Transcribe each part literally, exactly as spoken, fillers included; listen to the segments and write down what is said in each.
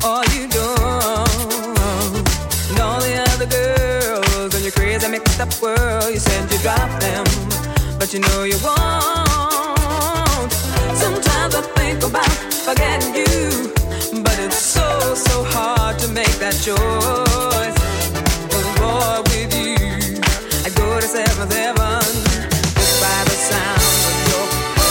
all you do. And all the other girls in your crazy mixed up world, you said you drop them, but you know you won't. Sometimes I think about forgetting you, but it's so, so hard to make that choice. Oh boy, with you, I go to seventh heaven just by the sound of your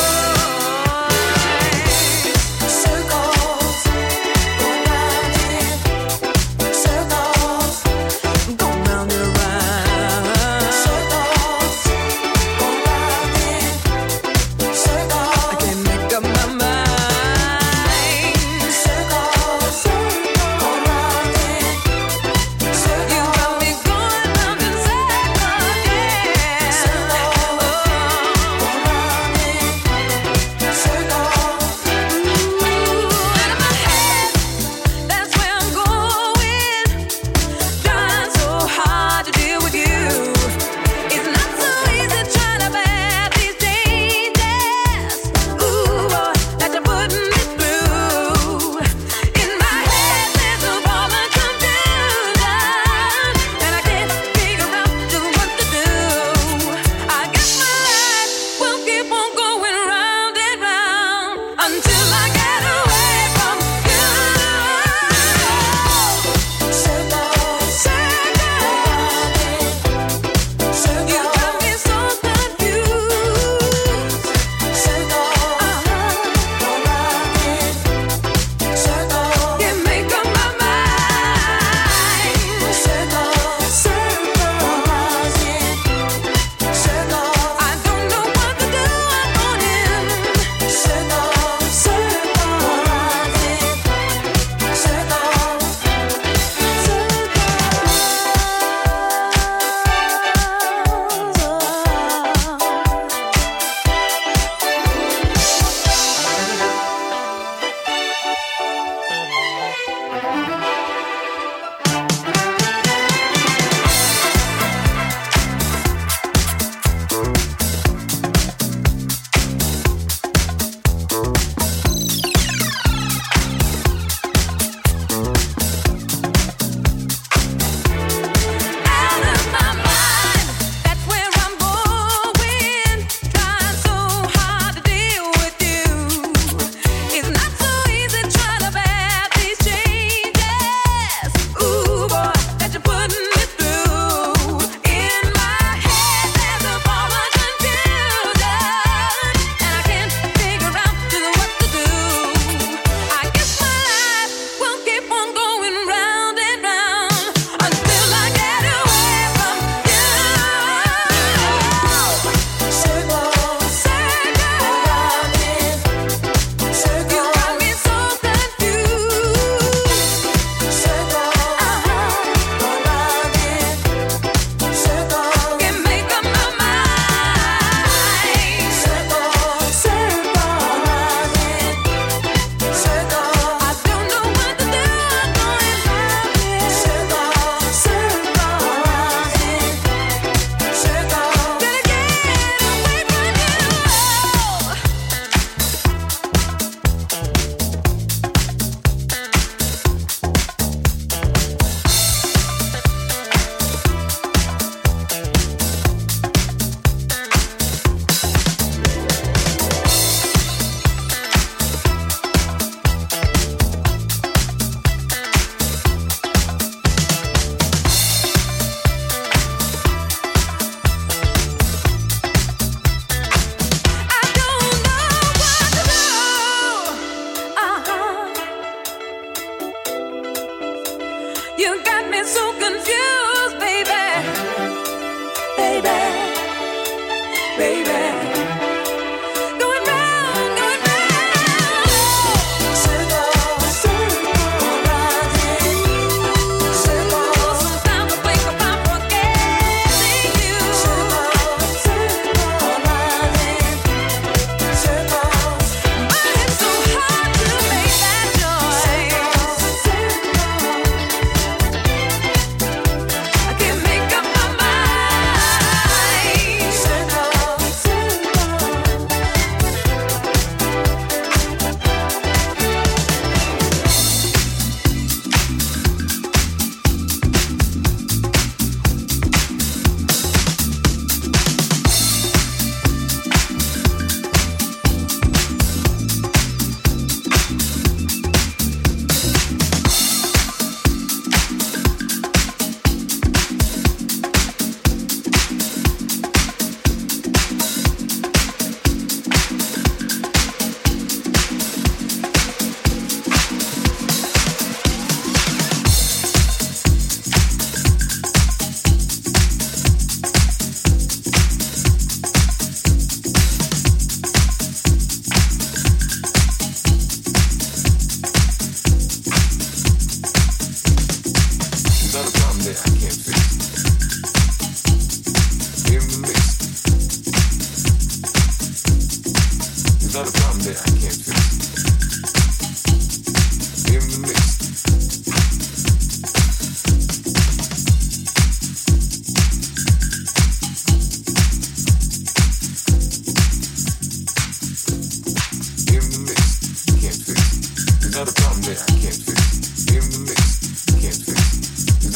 voice. Circles, go round it. Circles, go round and round. Circles, go round it. Circles, I can't make up my mind. Circles, go round it. Circles, you got me going round in circles, yeah. Circles, go round it. Circles, ooh, out of my head, that's where I'm going. Trying so hard to deal with you. It's not so easy trying to bear these changes. Ooh, boy, that you're putting me through. In my head, there's a ball of confusion, and I can't figure out just what to do. I guess my life will keep on going round and round until I get away from you. Circles, circles, you got me so confused. Circles, around it. Circles, can't make up my mind. Circles, circles, around it. Circles, I don't know what to do. I'm on him. Circles, circles, around it. Circles, out of my mind, that's where I'm going. Trying so hard to deal with you. It's not so easy trying to bear these changes. Ooh, boy, that you're putting me through. In my head, there's a ball of confusion, and I can't figure out just what to do. I guess my life will keep on going round and round until I get away from you. Circles, circles, around it. Circles, you got me so confused. Circles, around it. Circles, can't make up my mind. Circles, circles, around it. Circles, I don't know what to do. I'm going round it. Circles, circles, around it. Circles, gotta get away from you. I don't know what to do. Uh-huh. You got me so confused, baby. Baby. Baby. Going round, going round. Circles, circles, around it. Circles, sometimes I think about forgetting you. Circles, circles, around it. Circles, but it's so hard to make that choice. I can't make up my mind. Circles, circles.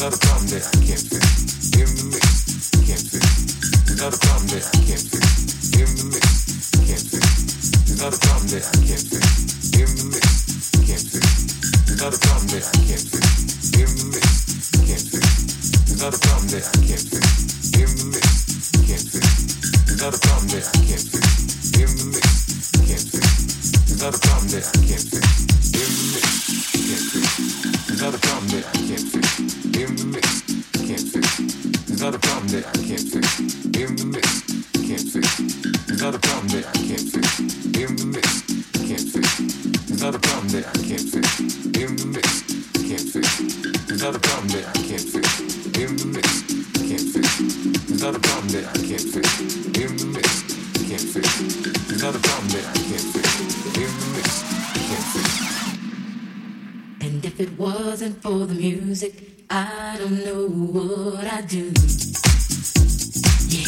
not a problem that I can't fix. In the mix, can't fix. There's not a problem that I can't fix. In the mix, can't fix. There's not a problem that I can't fix. In the mix, can't fix. There's not a problem that I can't fix. In the mix, can't fix. There's not a problem that I can't fix. In the mix, can't fix. There's not a problem that I can't fix. In the mix, can't fix. There's not a problem that I can't fix. In the mix, can't fix. There's not a problem that I can't fix. In the mix, can't fix. There's not a problem that I can't fix. In the mix, can't fix. There's not a problem that I can't fix. In the mix, can't fix. There's not a problem that I can't fix. In the mix, can't fix. There's not a problem that I can't fix. In the mix, can't fix. There's not a problem that I can't fix. In the mix, can't fix. There's not a problem that I can't fix. In the mix, can't fix. And if it wasn't for the music, I don't know what I'd do. Yeah.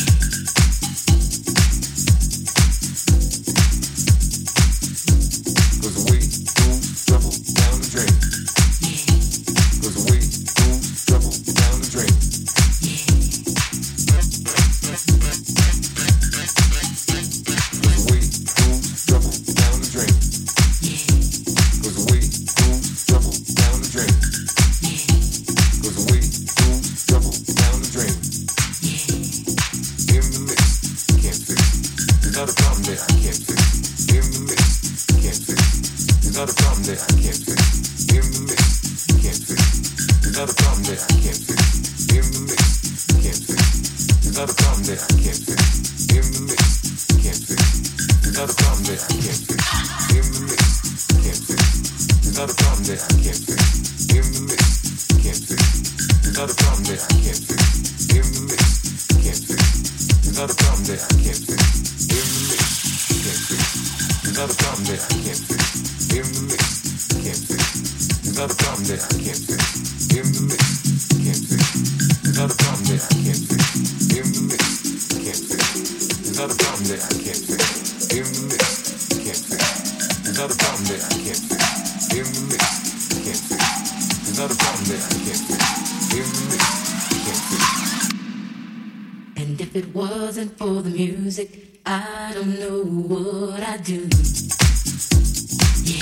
Cause the way moves trouble down the drain. Yeah. Cause the way moves trouble down the drain. Yeah. Cause the way moves trouble down the drain. Yeah. Cause the way moves trouble down the drain. Yeah. Cause the way moves trouble down the drain. Yeah. In the mix, can't fix. There's not a problem that I can't fix. In the mix, can't fix. There's not a problem that I can't fix. In the mix, can't fix. There's not a problem that I can't fix. In the mix, can't fix. There's not a problem that I can't fix. In the mix, can't fix. There's not a problem that I can't fix. In the mix, can't fix. There's not a problem that I can't fix. In the mix, can't fix. There's not a problem that I can't fix. In the mix, can't fix. There's not a problem that I can't fix. In the mix, can't fix. There's not a problem that I can't fix. In the mix, can't fix. There's not a problem that I can't fix. In the mix, can't fix. There's not a problem that I can't fix. In the mix, can't fix. There's not a problem that I can't fix. In the mix, can't fix. There's not a problem that I can't fix. In the mix, can't fix. There's not a problem that I can't fix. In the mix, can't fix. And if it wasn't for the music, I don't know what I'd do. Yeah.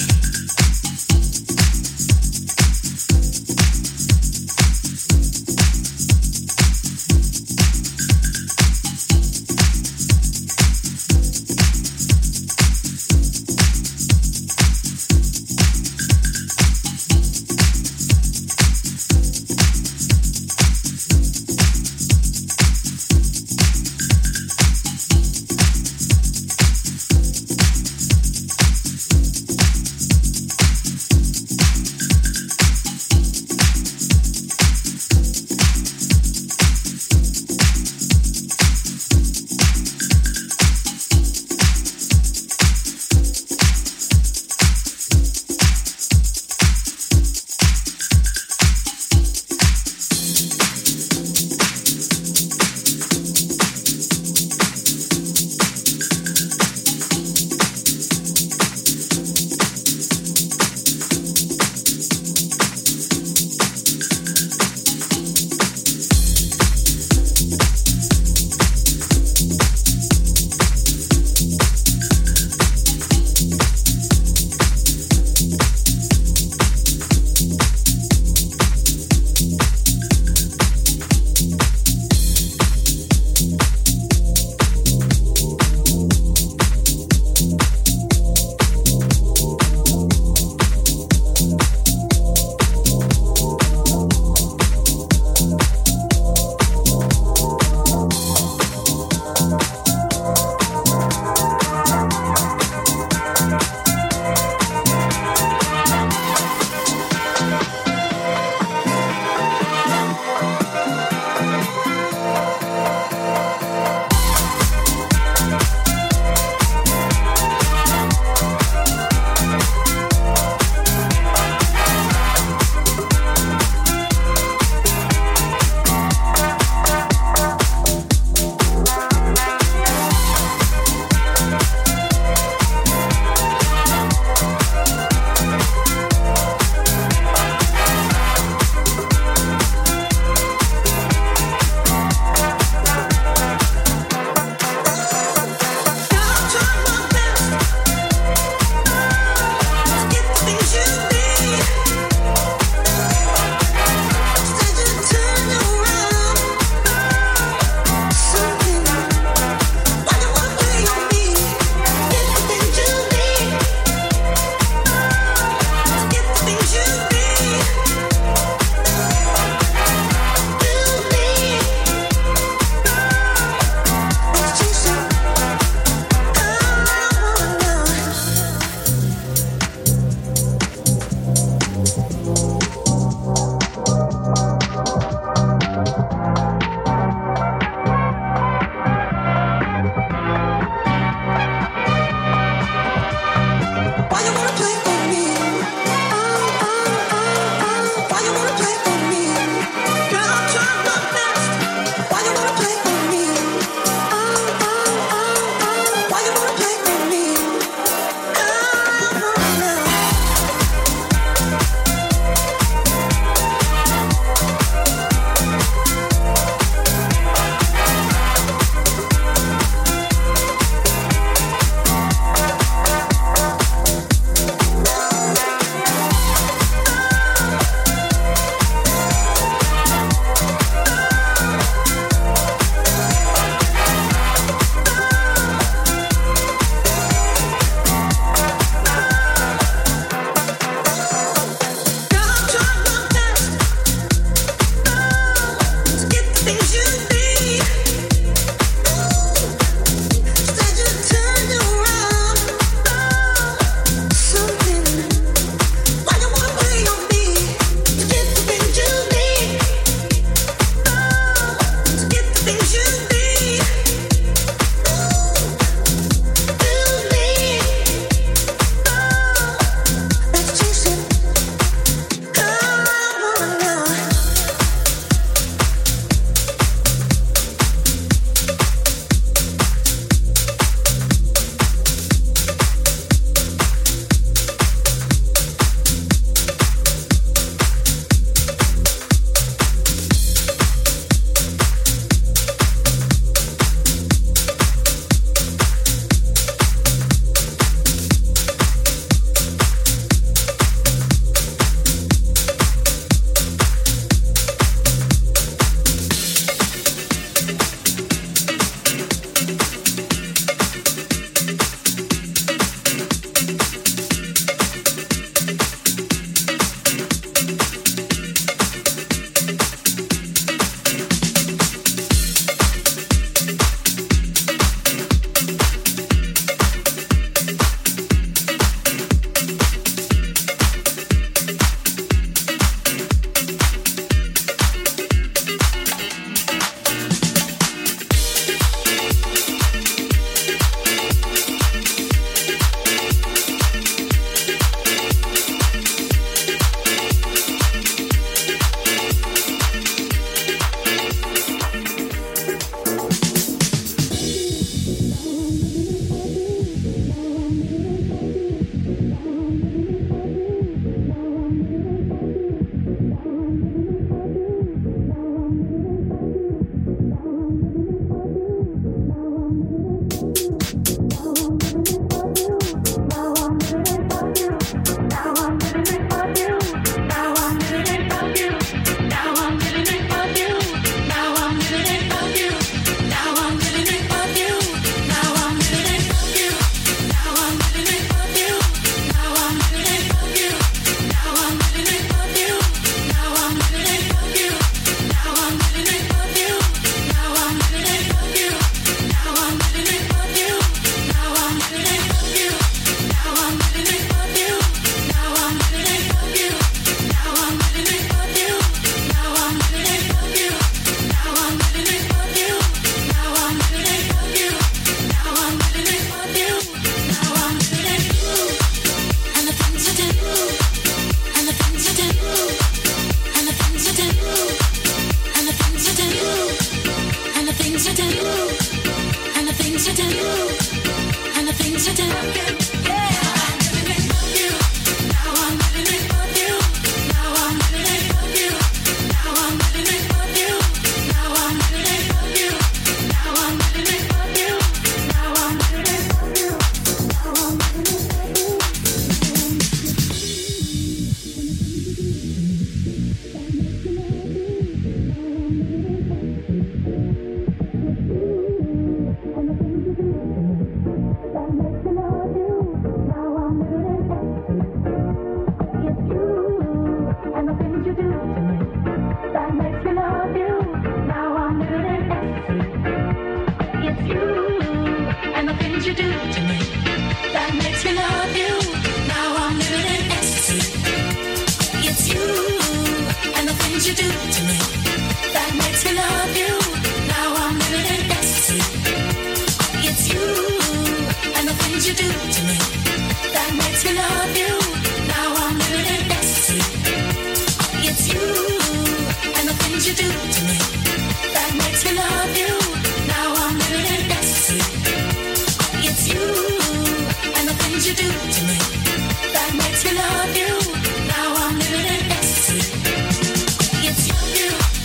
things you do to me that makes me love you. Now I'm living in ecstasy. It's you and the things you do to me that makes me love you. Now I'm living in ecstasy. It's you and the things you do to me that makes me love you. Now I'm living in ecstasy. It's you and the things you do to me that makes me love you. Now I'm living in ecstasy. It's you, you.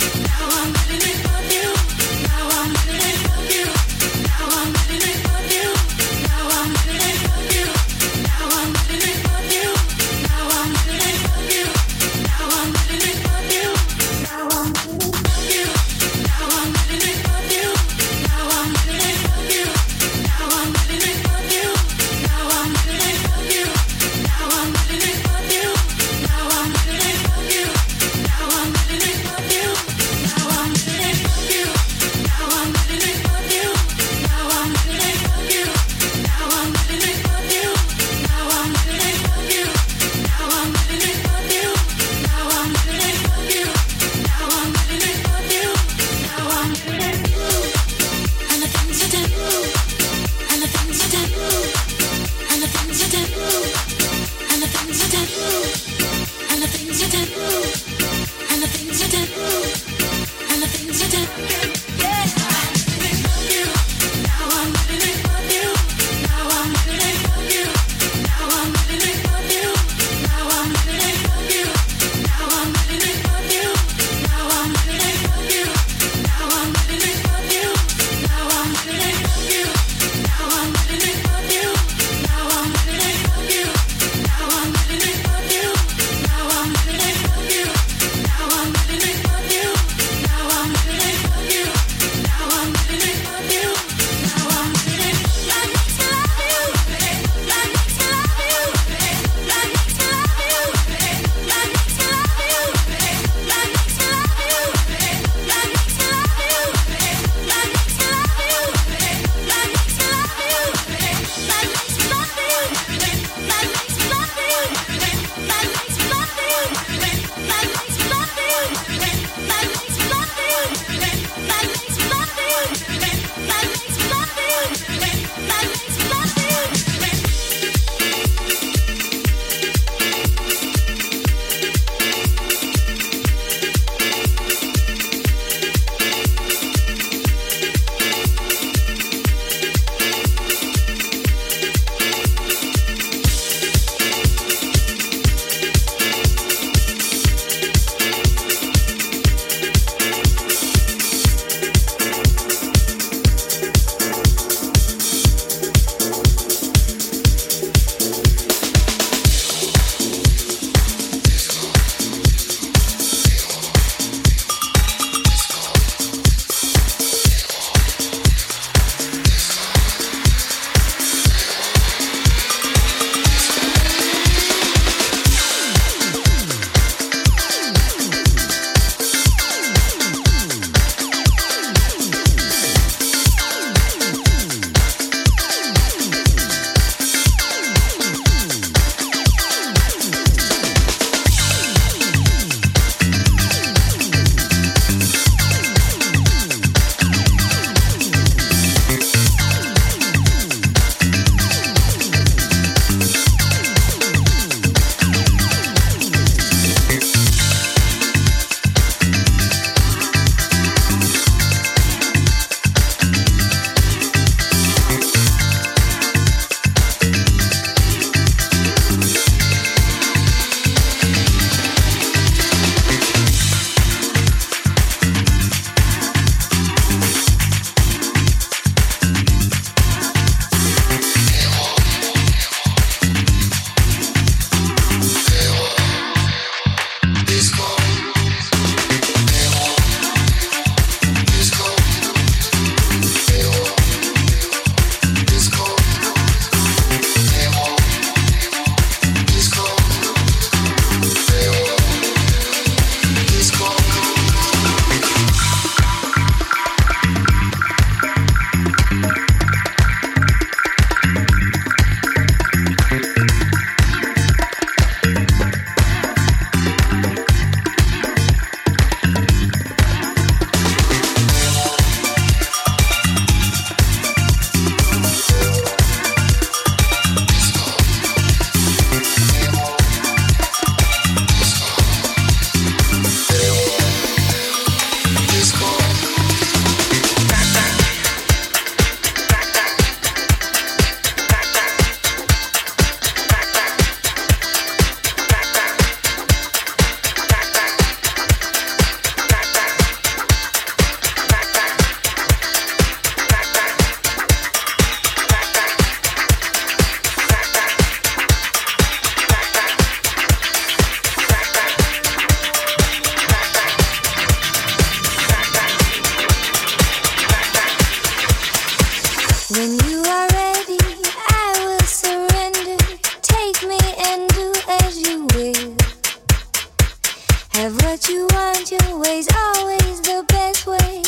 Have what you want, your way's always the best way.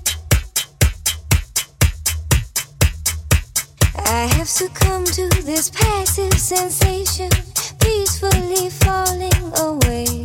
I have succumbed to this passive sensation, peacefully falling away.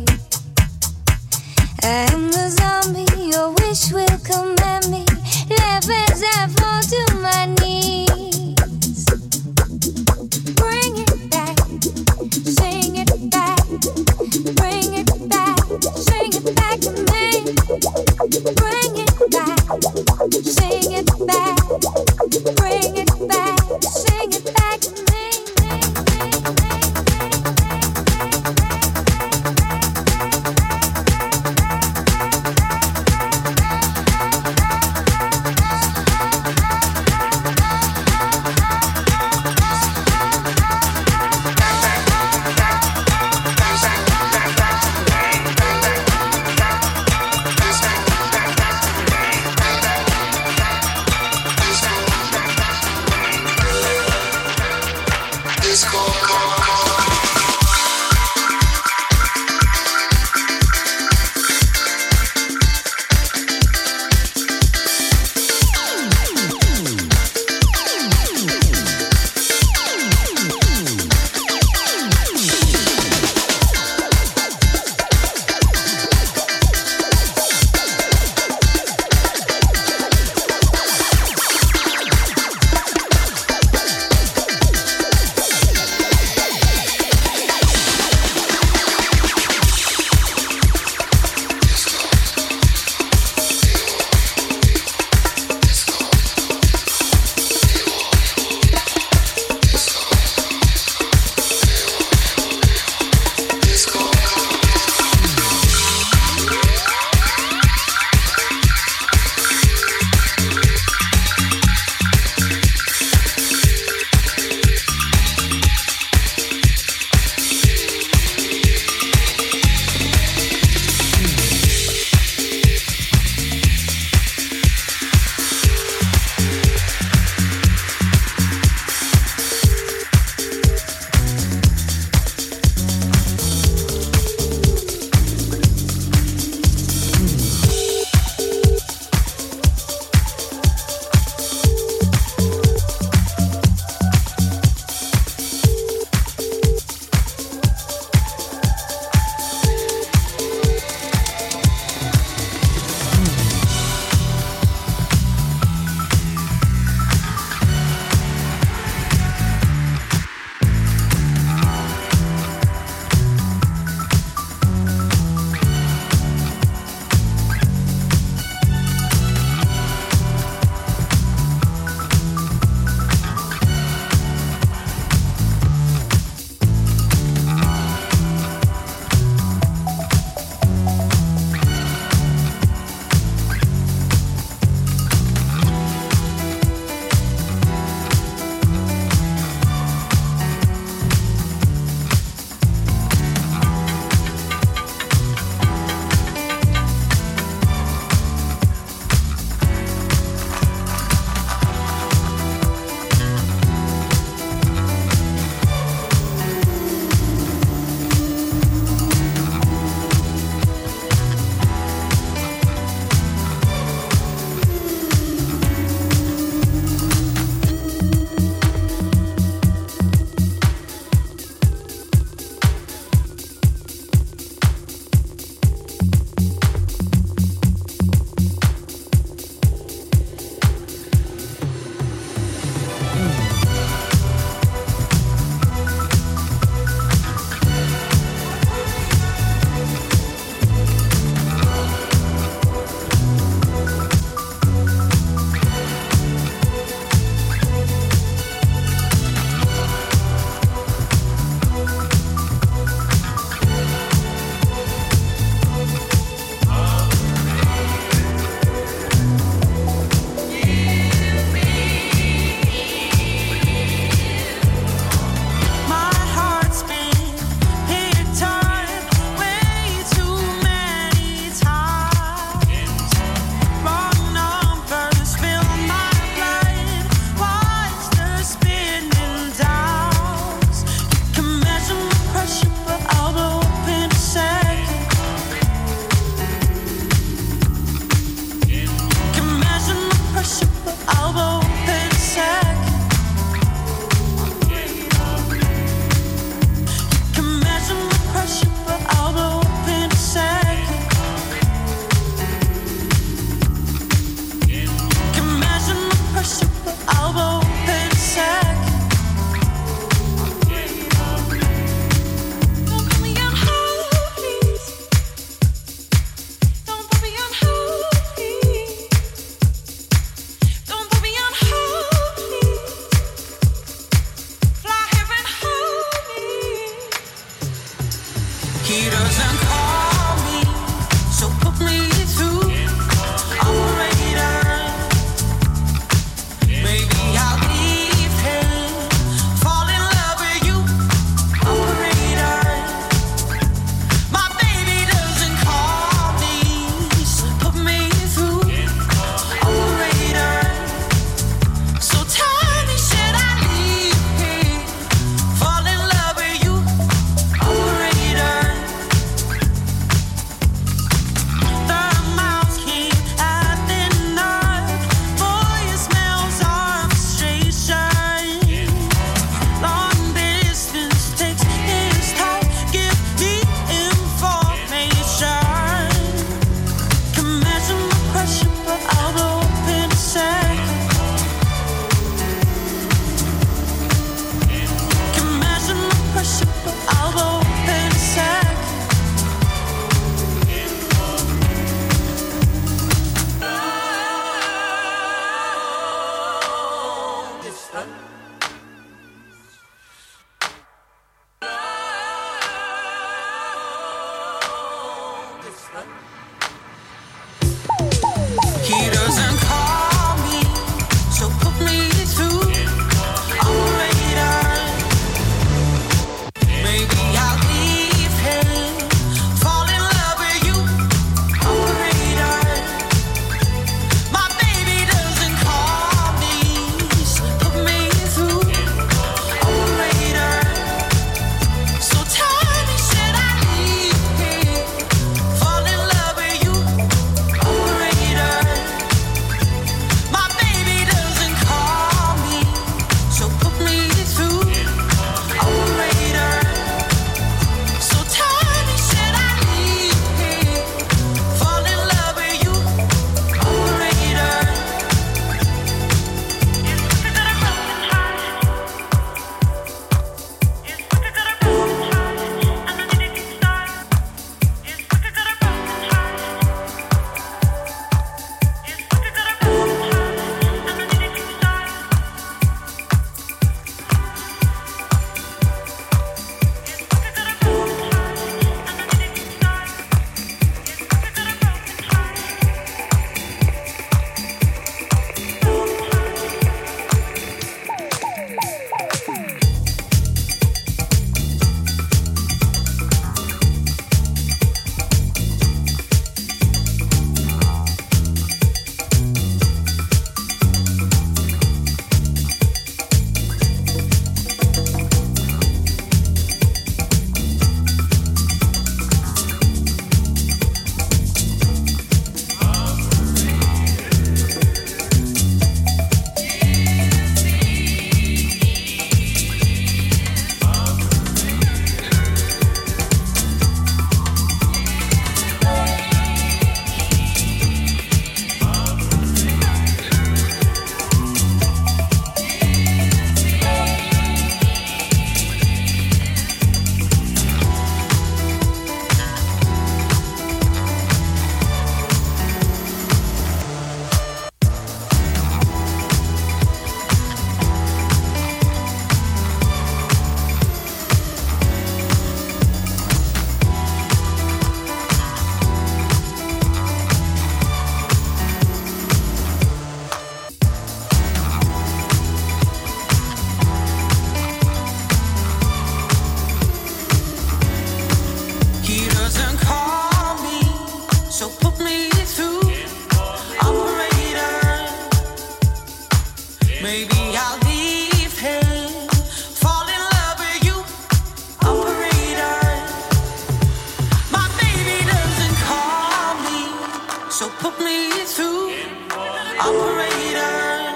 I am the zombie, your wish will command me. Laugh as I fall to my knees. Bring it back, sing it back. Bring it back, sing it back to me. Bring it back, sing it back. Bring it back, sing it back to me. He doesn't call me, so put me through. Operator, maybe I'll leave him, fall in love with you. Operator, my baby doesn't call me, so put me through. Operator, so tell me, should I leave him, fall in love with you? Operator, my baby doesn't call me, so put me through. Operator, so tell me, should I leave him, fall in love with you? Operator, he doesn't call me, so put me through. Operator, maybe I'll leave him, fall in love with you. Operator, my baby doesn't call me, so put me through. Operator,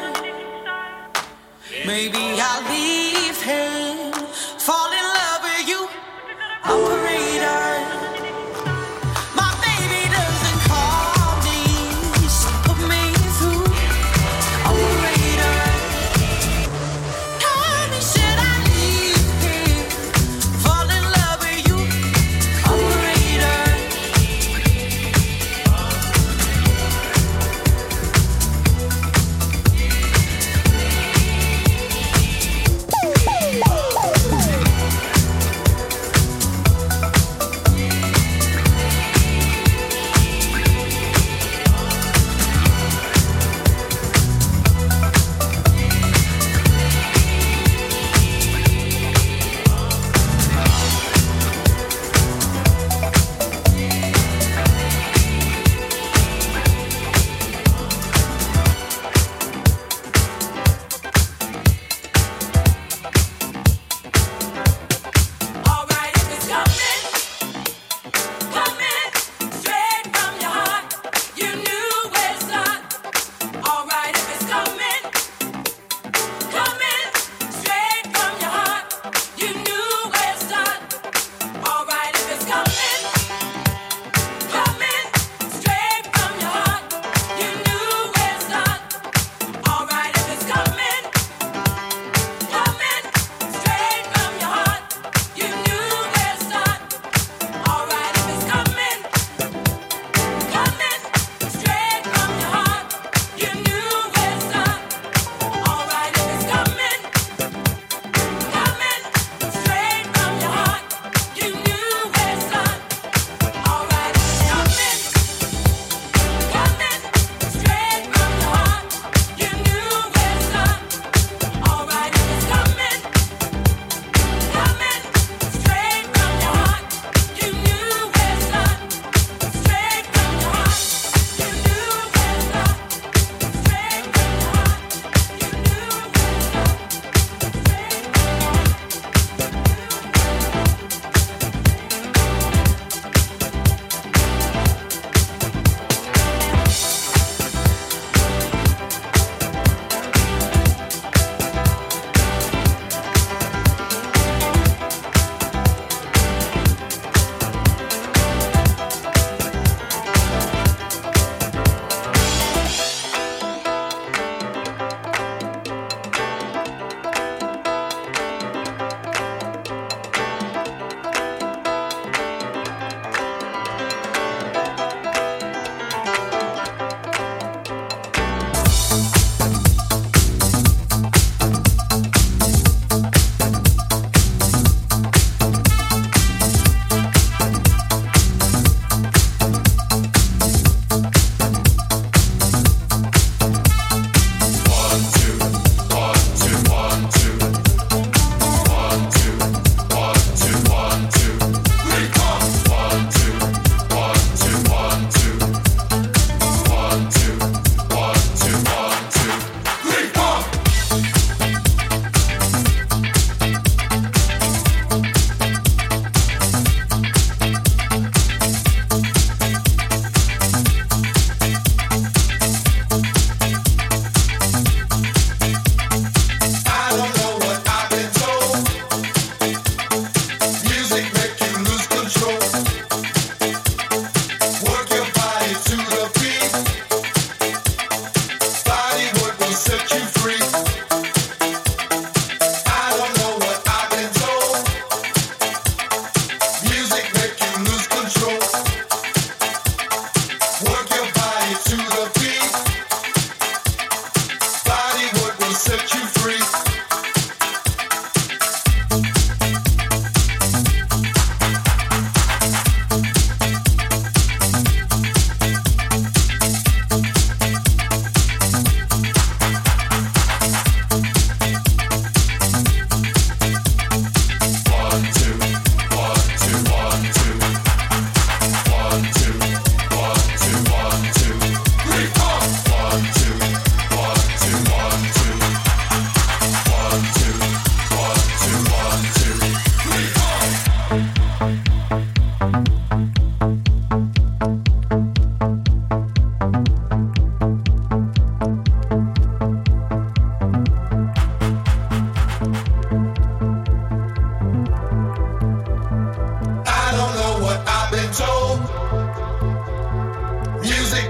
maybe I'll leave him, fall in love with you. Operator, my baby doesn't call me, so put me through. Operator, tell me, should I leave him, fall in love with you? Operator, Ooh.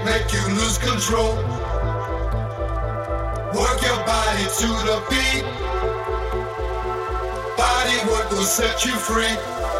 make you lose control. Work your body to the beat. Body work will set you free.